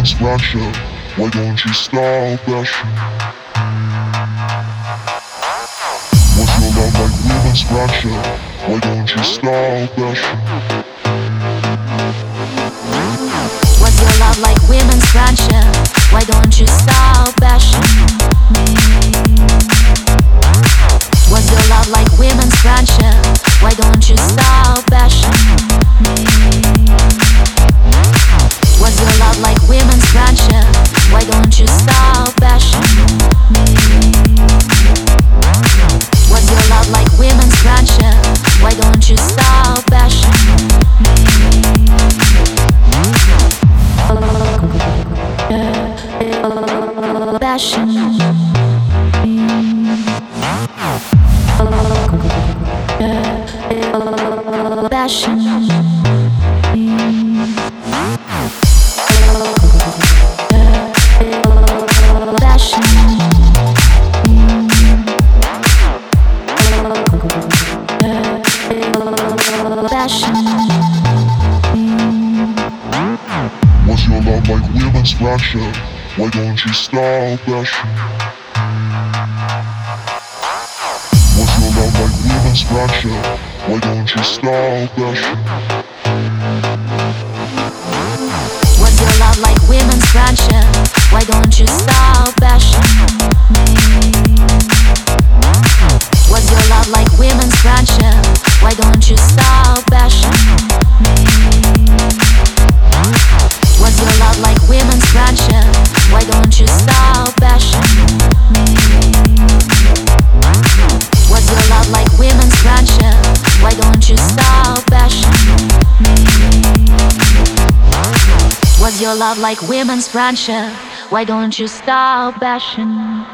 women's friendship? Why don't you stop bashing? What's your love like women's friendship? Why don't you stop bashing? What's your love like women's friendship? Why don't you stop bashing me? What's your love like women's friendship? Why don't you stop bashing me? What's your love like women's friendship? Why don't you stop bashing me? What's your love like women's friendship? Why don't you stop bashing me? Bashing me. Bashing me. What's your love like women's friendship? Why don't you stop bashing? What's your love like women's friendship? Why don't you stop bashing? What's your love like women's friendship? Why don't you stop bashing me? What's your love like women's friendship? Why don't you stop bashing me? What's your love like women's friendship? Why don't you stop bashing me? What's your love like women's friendship? Why don't you stop bashing me? What's your love like women's friendship? Why don't you stop bashing